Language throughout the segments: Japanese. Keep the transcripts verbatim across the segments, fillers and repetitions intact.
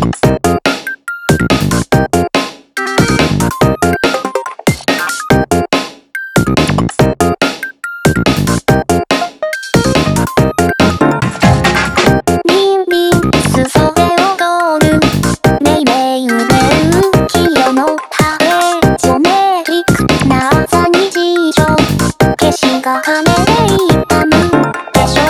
が金で痛むでしょ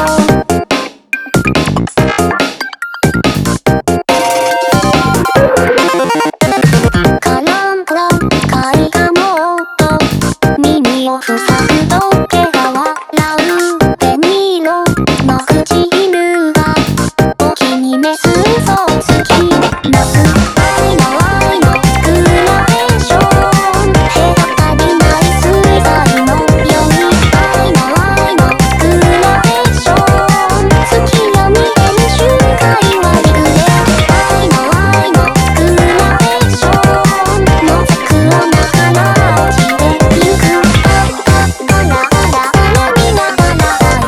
う。カランコロン貝がもっと耳を塞ぐと毛が笑う。紅色の唇がお気に召す嘘をつきなす。愛の愛のグラデーション隔たりない水彩のように愛の愛のグラデーション月夜に出る瞬間はリグレ愛の愛のグラデーションのざくをながら落ちてゆくああガラガラガラ見ながらア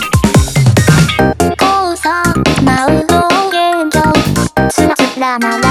イス交差舞う表現上つらつらなら